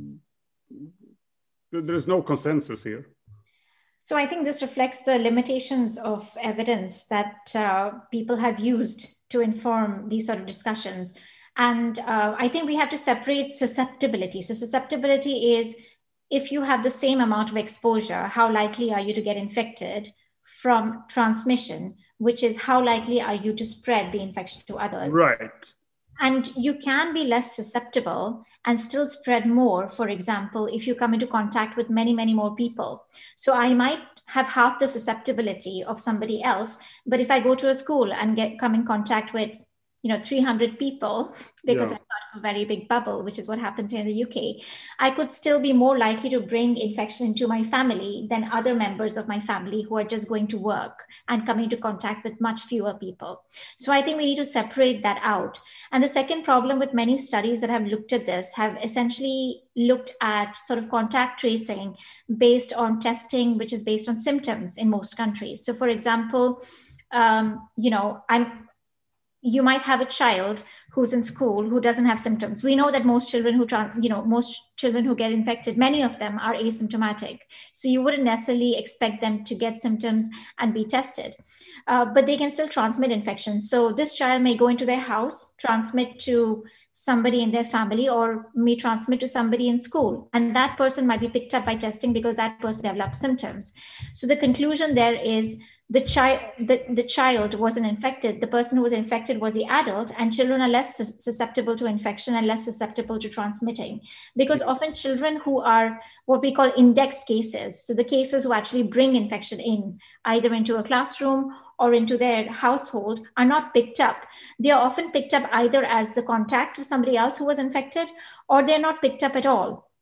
there's no consensus here. So I think this reflects the limitations of evidence that uh, people have used to inform these sort of discussions. And uh, I think we have to separate susceptibility. So susceptibility is, if you have the same amount of exposure, how likely are you to get infected, from transmission, which is how likely are you to spread the infection to others. Right. And you can be less susceptible and still spread more, for example, if you come into contact with many, many more people. So I might have half the susceptibility of somebody else, but if I go to a school and get come in contact with, you know, three hundred people, because Yeah. I'm part of a very big bubble, which is what happens here in the U K, I could still be more likely to bring infection into my family than other members of my family who are just going to work and coming into contact with much fewer people. So I think we need to separate that out. And the second problem with many studies that have looked at this have essentially looked at sort of contact tracing based on testing, which is based on symptoms in most countries. So for example, um, you know, I'm you might have a child who's in school who doesn't have symptoms. We know that most children who, you know, most children who get infected, many of them are asymptomatic. So you wouldn't necessarily expect them to get symptoms and be tested, uh, but they can still transmit infection. So this child may go into their house, transmit to somebody in their family, or may transmit to somebody in school. And that person might be picked up by testing because that person developed symptoms. So the conclusion there is the child the, the child wasn't infected. The person who was infected was the adult, and children are less susceptible to infection and less susceptible to transmitting, because often children who are what we call index cases, so the cases who actually bring infection in either into a classroom or into their household, are not picked up. They are often picked up either as the contact with somebody else who was infected, or they're not picked up at all,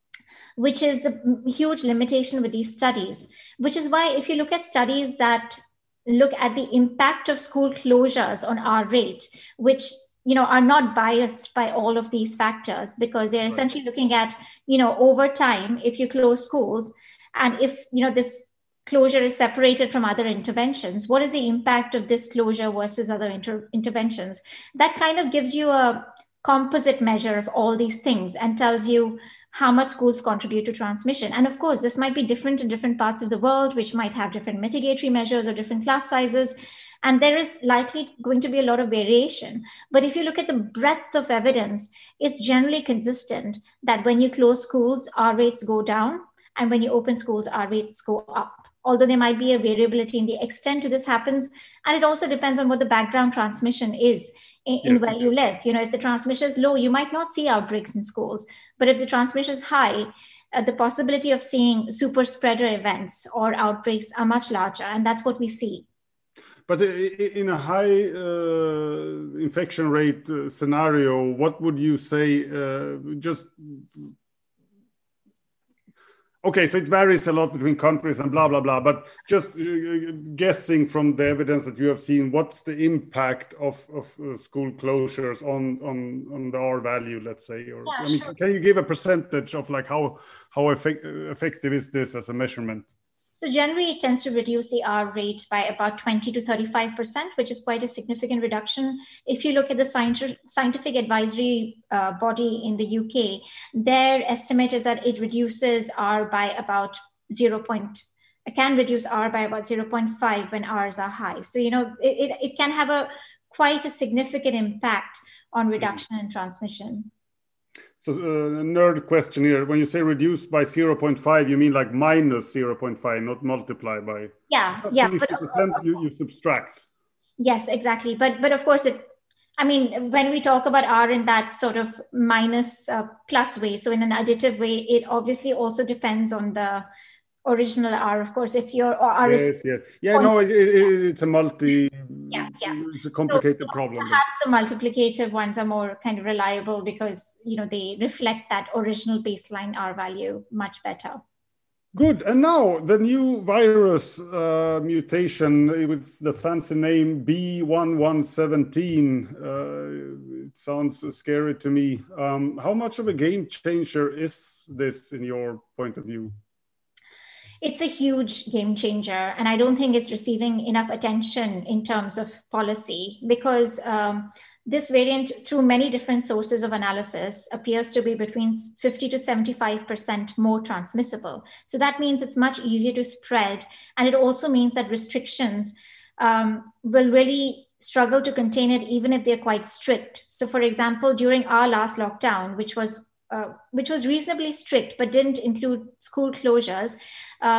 which is the huge limitation with these studies. Which is why if you look at studies that look at the impact of school closures on R rate, which, you know, are not biased by all of these factors, because they're essentially looking at, you know, over time, if you close schools, and if, you know, this closure is separated from other interventions, what is the impact of this closure versus other inter- interventions? That kind of gives you a composite measure of all these things and tells you how much schools contribute to transmission. And of course, this might be different in different parts of the world, which might have different mitigatory measures or different class sizes. And there is likely going to be a lot of variation. But if you look at the breadth of evidence, it's generally consistent that when you close schools, R rates go down, and when you open schools, R rates go up. Although there might be a variability in the extent to this happens. And it also depends on what the background transmission is in, in yes, where yes. you live. You know, if the transmission is low, you might not see outbreaks in schools. But if the transmission is high, uh, the possibility of seeing super spreader events or outbreaks are much larger. And that's what we see. But in a high uh, infection rate uh, scenario, what would you say, uh, just... Okay, so it varies a lot between countries and blah, blah, blah. But just guessing from the evidence that you have seen, what's the impact of, of uh, school closures on, on, on the R value, let's say? Or, yeah, I mean, sure. Can you give a percentage of like how, how effect, effective is this as a measurement? So generally, it tends to reduce the R rate by about twenty to thirty-five percent, which is quite a significant reduction. If you look at the scientific advisory uh, body in the U K, their estimate is that it reduces R by about zero. It can reduce R by about zero point five when R's are high. So, you know, it, it, it can have a quite a significant impact on reduction mm-hmm. in transmission. So uh, a nerd question here. When you say reduce by zero point five, you mean like minus zero point five, not multiply by? Yeah, yeah. fifty percent but, uh, you, you subtract. Yes, exactly. But but of course, it. I mean, when we talk about R in that sort of minus uh, plus way, so in an additive way, it obviously also depends on the original R. Of course, if your R yes, is yes, yeah, no, it, it, it's a multi. Yeah, yeah. It's a complicated so, problem. Perhaps the multiplicative ones are more kind of reliable because, you know, they reflect that original baseline R value much better. Good. And now the new virus uh, mutation with the fancy name B one one one seven. Uh, it sounds scary to me. Um, how much of a game changer is this in your point of view? It's a huge game changer, and I don't think it's receiving enough attention in terms of policy because um, this variant, through many different sources of analysis, appears to be between fifty to seventy-five percent more transmissible. So that means it's much easier to spread, and it also means that restrictions um, will really struggle to contain it even if they're quite strict. So for example, during our last lockdown, which was Uh, which was reasonably strict, but didn't include school closures, uh,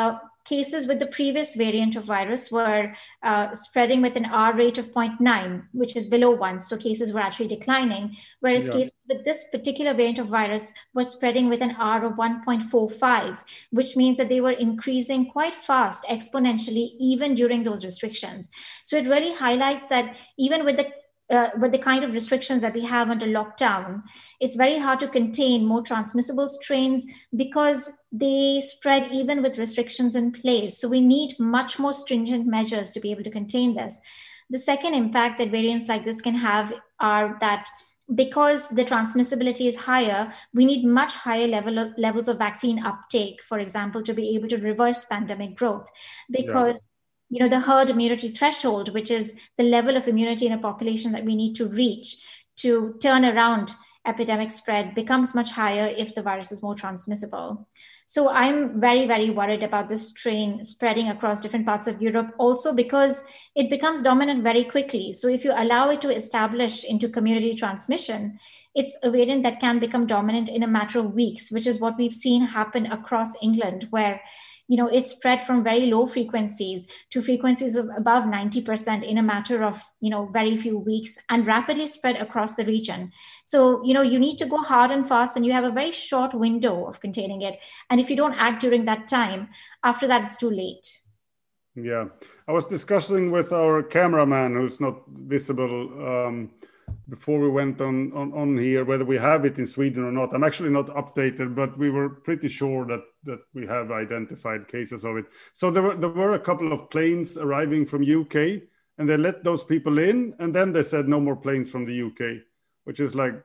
cases with the previous variant of virus were uh, spreading with an R rate of zero point nine, which is below one. So cases were actually declining, whereas yeah. cases with this particular variant of virus were spreading with an R of one point four five, which means that they were increasing quite fast, exponentially, even during those restrictions. So it really highlights that even with the Uh, with the kind of restrictions that we have under lockdown, it's very hard to contain more transmissible strains because they spread even with restrictions in place. So we need much more stringent measures to be able to contain this. The second impact that variants like this can have are that because the transmissibility is higher, we need much higher level of, levels of vaccine uptake, for example, to be able to reverse pandemic growth. Because yeah. you know, the herd immunity threshold, which is the level of immunity in a population that we need to reach to turn around epidemic spread, becomes much higher if the virus is more transmissible. So I'm very, very worried about this strain spreading across different parts of Europe, also because it becomes dominant very quickly. So if you allow it to establish into community transmission, it's a variant that can become dominant in a matter of weeks, which is what we've seen happen across England, where you know, it spread from very low frequencies to frequencies of above ninety percent in a matter of, you know, very few weeks, and rapidly spread across the region. So, you know, you need to go hard and fast, and you have a very short window of containing it. And if you don't act during that time, after that, it's too late. Yeah. I was discussing with our cameraman, who's not visible, um, before we went on, on, on here, whether we have it in Sweden or not. I'm actually not updated, but we were pretty sure that, that we have identified cases of it. So there were, there were a couple of planes arriving from U K, and they let those people in, and then they said no more planes from the U K, which is like...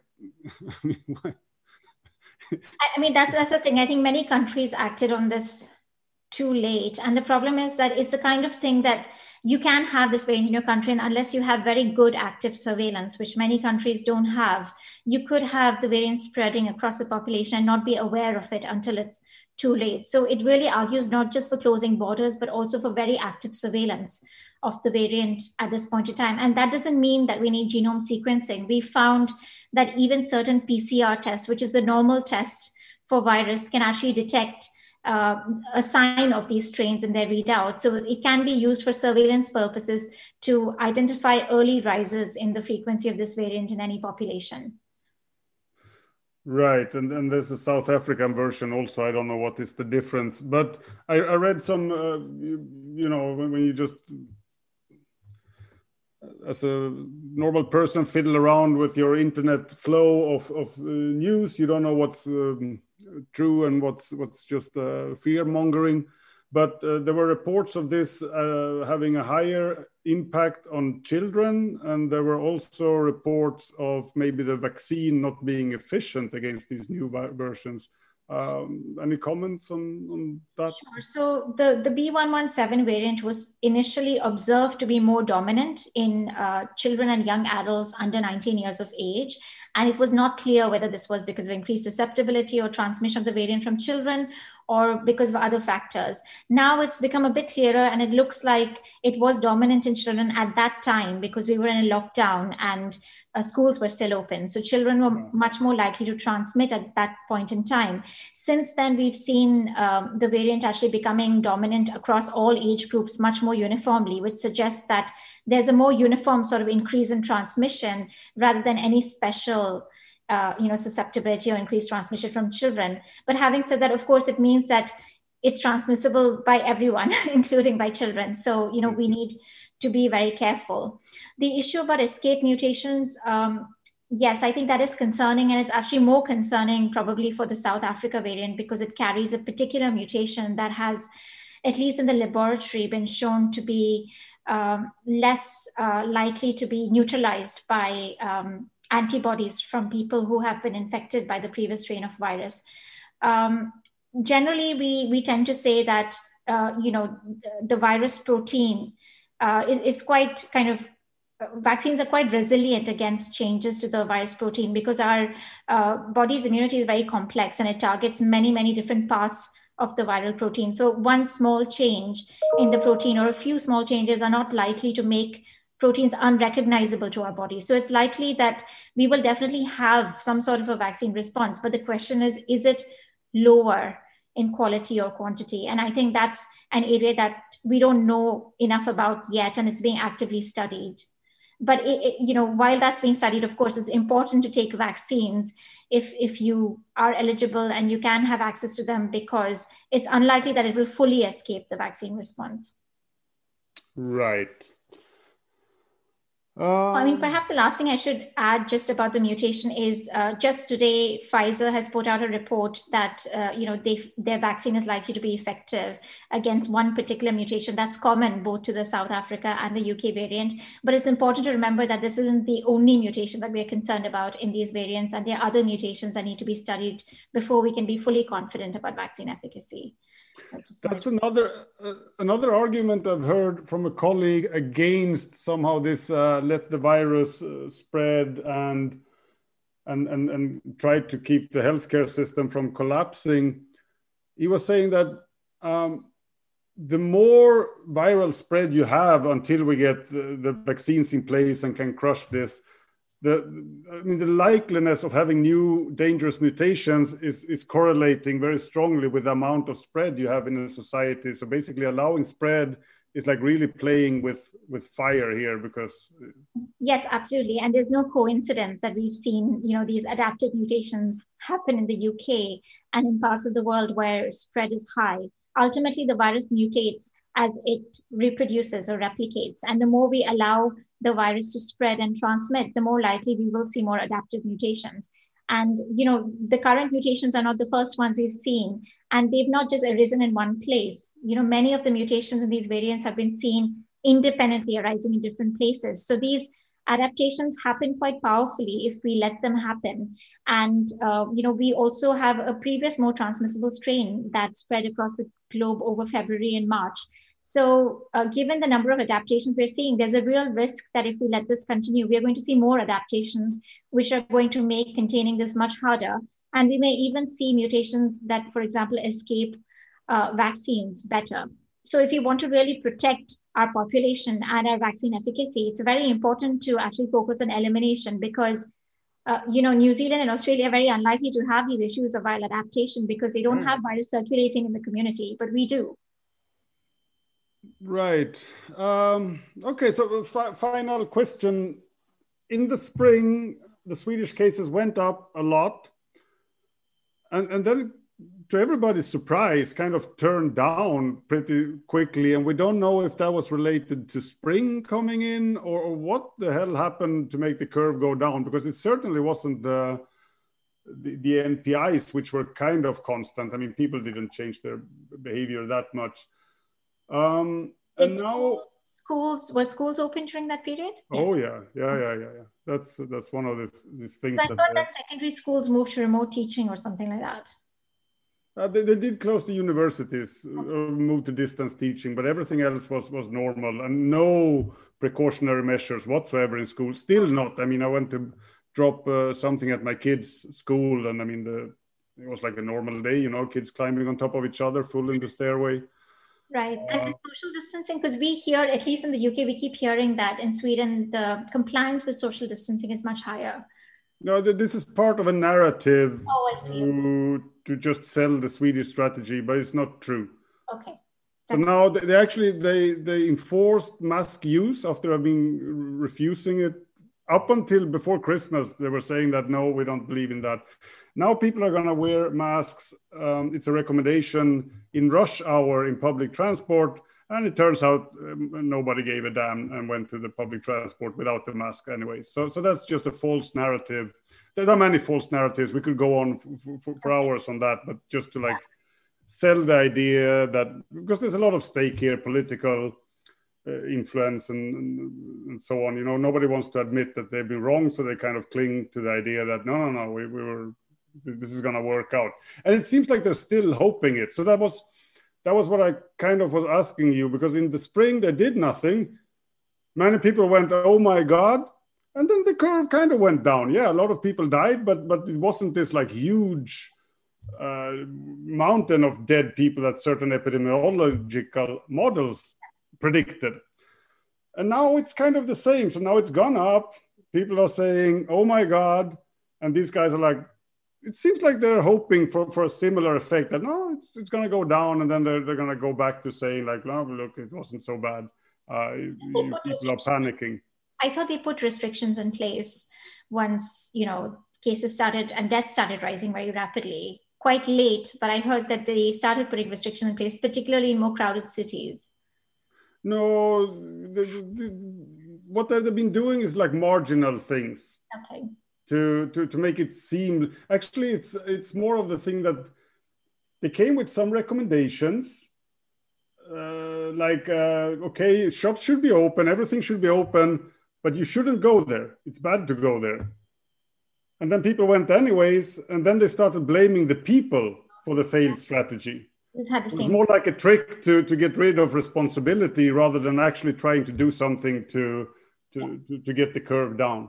I mean, that's, that's the thing. I think many countries acted on this too late. And the problem is that it's the kind of thing that you can have this variant in your country, and unless you have very good active surveillance, which many countries don't have, you could have the variant spreading across the population and not be aware of it until it's too late. So it really argues not just for closing borders, but also for very active surveillance of the variant at this point in time. And that doesn't mean that we need genome sequencing. We found that even certain P C R tests, which is the normal test for virus, can actually detect Uh, a sign of these strains in their readout. So it can be used for surveillance purposes to identify early rises in the frequency of this variant in any population. Right, and, and there's a South African version also. I don't know what is the difference, but I, I read some, uh, you, you know, when, when you just, as a normal person, fiddle around with your internet flow of, of uh, news, you don't know what's um, true and what's what's just uh, fear mongering, but uh, there were reports of this uh, having a higher impact on children, and there were also reports of maybe the vaccine not being efficient against these new versions. Um, any comments on, on that? Sure. So the, the B one one seven variant was initially observed to be more dominant in uh, children and young adults under nineteen years of age. And it was not clear whether this was because of increased susceptibility or transmission of the variant from children, or because of other factors. Now it's become a bit clearer, and it looks like it was dominant in children at that time because we were in a lockdown and uh, schools were still open. So children were much more likely to transmit at that point in time. Since then, we've seen um, the variant actually becoming dominant across all age groups much more uniformly, which suggests that there's a more uniform sort of increase in transmission rather than any special Uh, you know, susceptibility or increased transmission from children. But having said that, of course, it means that it's transmissible by everyone, including by children. So, you know, we need to be very careful. The issue about escape mutations, um, yes, I think that is concerning. And it's actually more concerning probably for the South Africa variant because it carries a particular mutation that has, at least in the laboratory, been shown to be um, less uh, likely to be neutralized by um, antibodies from people who have been infected by the previous strain of virus. Um, generally, we, we tend to say that, uh, you know, the, the virus protein uh, is, is quite kind of, uh, vaccines are quite resilient against changes to the virus protein because our uh, body's immunity is very complex and it targets many, many different parts of the viral protein. So one small change in the protein or a few small changes are not likely to make proteins unrecognizable to our body. So it's likely that we will definitely have some sort of a vaccine response. But the question is, is it lower in quality or quantity. And I think that's an area that we don't know enough about yet, and it's being actively studied. But it, it, you know, while that's being studied, of course, it's important to take vaccines if if you are eligible and you can have access to them, because it's unlikely that it will fully escape the vaccine response. Right. Um, I mean, perhaps the last thing I should add just about the mutation is uh, just today, Pfizer has put out a report that, uh, you know, they, their vaccine is likely to be effective against one particular mutation that's common both to the South Africa and the U K variant. But it's important to remember that this isn't the only mutation that we're concerned about in these variants, and there are other mutations that need to be studied before we can be fully confident about vaccine efficacy. That's another uh, another argument I've heard from a colleague against somehow this uh, let the virus uh, spread and, and and and try to keep the healthcare system from collapsing. He was saying that um, the more viral spread you have until we get the, the vaccines in place and can crush this, The, I mean, the likeliness of having new dangerous mutations is, is correlating very strongly with the amount of spread you have in a society. So basically allowing spread is like really playing with, with fire here because... Yes, absolutely. And there's no coincidence that we've seen, you know, these adaptive mutations happen in the U K and in parts of the world where spread is high. Ultimately, the virus mutates as it reproduces or replicates. And the more we allow the virus to spread and transmit, the more likely we will see more adaptive mutations. And, you know, the current mutations are not the first ones we've seen, and they've not just arisen in one place. You know, many of the mutations in these variants have been seen independently arising in different places. So these adaptations happen quite powerfully if we let them happen. And, uh, you know, we also have a previous more transmissible strain that spread across the globe over February and March. So uh, given the number of adaptations we're seeing, there's a real risk that if we let this continue, we are going to see more adaptations, which are going to make containing this much harder. And we may even see mutations that, for example, escape uh, vaccines better. So if you want to really protect our population and our vaccine efficacy, it's very important to actually focus on elimination because, uh, you know, New Zealand and Australia are very unlikely to have these issues of viral adaptation because they don't mm. have virus circulating in the community, but we do. Right. Um, okay, so fi- final question. In the spring, the Swedish cases went up a lot. And, and then, to everybody's surprise, kind of turned down pretty quickly. And we don't know if that was related to spring coming in or, or what the hell happened to make the curve go down, because it certainly wasn't the, the, the N P Is, which were kind of constant. I mean, people didn't change their behavior that much. Um, and it's now schools were schools open during that period? Oh yes. yeah, yeah, yeah, yeah, yeah. That's that's one of the these things. I that thought that secondary schools moved to remote teaching or something like that. Uh, they, they did close the universities, uh, move to distance teaching, but everything else was was normal and no precautionary measures whatsoever in school. Still not. I mean, I went to drop uh, something at my kids' school, and I mean the it was like a normal day, you know, kids climbing on top of each other, full in the stairway. Right. And uh, social distancing, because we hear, at least in the U K, we keep hearing that in Sweden, the compliance with social distancing is much higher. No, this is part of a narrative oh, I see. To, to just sell the Swedish strategy, but it's not true. Okay. That's... So now they actually, they, they enforced mask use after having refusing it. Up until before Christmas, they were saying that, no, we don't believe in that. Now people are going to wear masks. Um, it's a recommendation in rush hour in public transport. And it turns out um, nobody gave a damn and went to the public transport without the mask anyway. So, so that's just a false narrative. There are many false narratives. We could go on for, for, for hours on that, but just to like sell the idea that, because there's a lot of stake here, political uh, influence and, and, and so on. You know, nobody wants to admit that they've been wrong. So they kind of cling to the idea that, no, no, no, we, we were, this is going to work out. And it seems like they're still hoping it. So that was, That was what I kind of was asking you, because in the spring they did nothing. Many people went, oh my God. And then the curve kind of went down. Yeah, a lot of people died, but but it wasn't this like huge uh, mountain of dead people that certain epidemiological models predicted. And now it's kind of the same. So now it's gone up. People are saying, oh my God. And these guys are like, it seems like they're hoping for, for a similar effect, that no, it's, it's going to go down, and then they're, they're going to go back to saying like, no, look, it wasn't so bad. Uh, you, people are panicking. I thought they put restrictions in place once, you know, cases started and deaths started rising very rapidly, quite late. But I heard that they started putting restrictions in place, particularly in more crowded cities. No, the, the, what they've been doing is like marginal things. Okay. To, to, to make it seem, actually, it's it's more of the thing that they came with some recommendations, uh, like, uh, okay, shops should be open, everything should be open, but you shouldn't go there. It's bad to go there. And then people went anyways, and then they started blaming the people for the failed strategy. We've had the same. It's more like a trick to, to get rid of responsibility rather than actually trying to do something to, to, yeah. to, to get the curve down.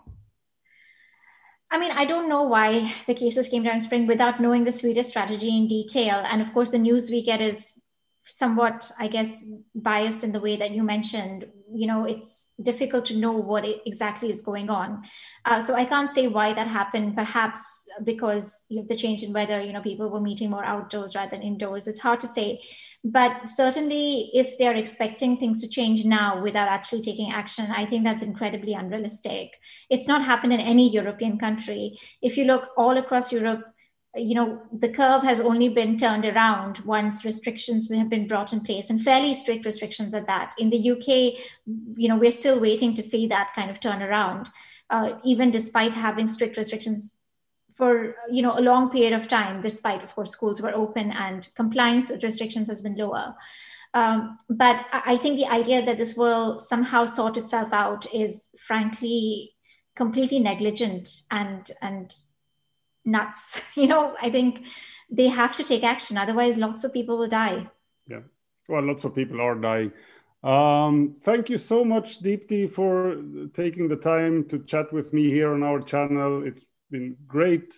I mean, I don't know why the cases came down in spring without knowing the Swedish strategy in detail. And of course, the news we get is somewhat, I guess, biased in the way that you mentioned. You know, it's difficult to know what exactly is going on. Uh, so I can't say why that happened, perhaps because you know, the change in weather, you know, people were meeting more outdoors rather than indoors. It's hard to say. But certainly if they're expecting things to change now without actually taking action, I think that's incredibly unrealistic. It's not happened in any European country. If you look all across Europe, you know, the curve has only been turned around once restrictions have been brought in place, and fairly strict restrictions at that. In the U K, you know, we're still waiting to see that kind of turnaround, uh, even despite having strict restrictions for, you know, a long period of time, despite, of course, schools were open and compliance with restrictions has been lower. Um, but I think the idea that this will somehow sort itself out is frankly completely negligent and, and nuts. You know, I think they have to take action. Otherwise, lots of people will die. Yeah. Well, lots of people are dying. Um, thank you so much, Deepti, for taking the time to chat with me here on our channel. It's been great.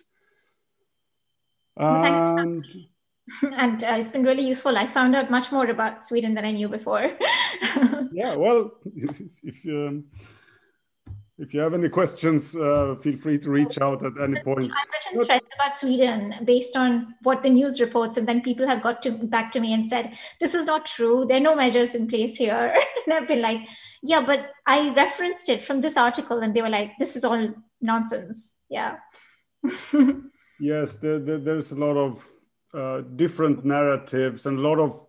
And, well, and uh, it's been really useful. I found out much more about Sweden than I knew before. Yeah, well, if, if um, If you have any questions, uh, feel free to reach out at any point. I've written threads about Sweden based on what the news reports, and then people have got to back to me and said, this is not true. There are no measures in place here. And I've been like, yeah, but I referenced it from this article, and they were like, this is all nonsense. Yeah. Yes, there, there, there's a lot of uh, different narratives and a lot of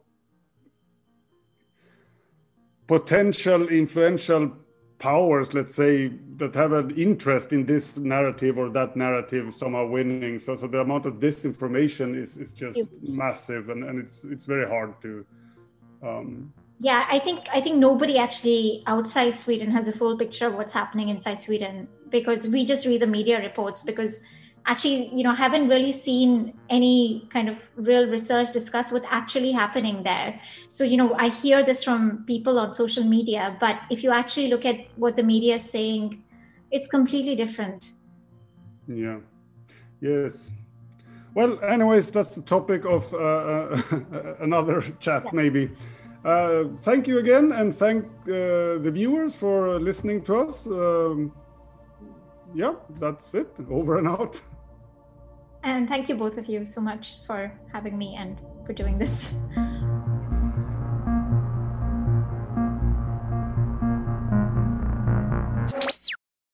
potential influential powers, let's say, that have an interest in this narrative or that narrative somehow winning. So, so the amount of disinformation is is just Huge. massive, and, and it's it's very hard to. Um, yeah, I think I think nobody actually outside Sweden has a full picture of what's happening inside Sweden, because we just read the media reports, because actually, you know, haven't really seen any kind of real research discuss what's actually happening there. So, you know, I hear this from people on social media, but if you actually look at what the media is saying, it's completely different. Yeah. Yes. Well, anyways, that's the topic of uh, another chat, yeah. maybe. Uh, thank you again, and thank uh, the viewers for listening to us. Um, yeah, that's it. Over and out. And thank you both of you so much for having me and for doing this.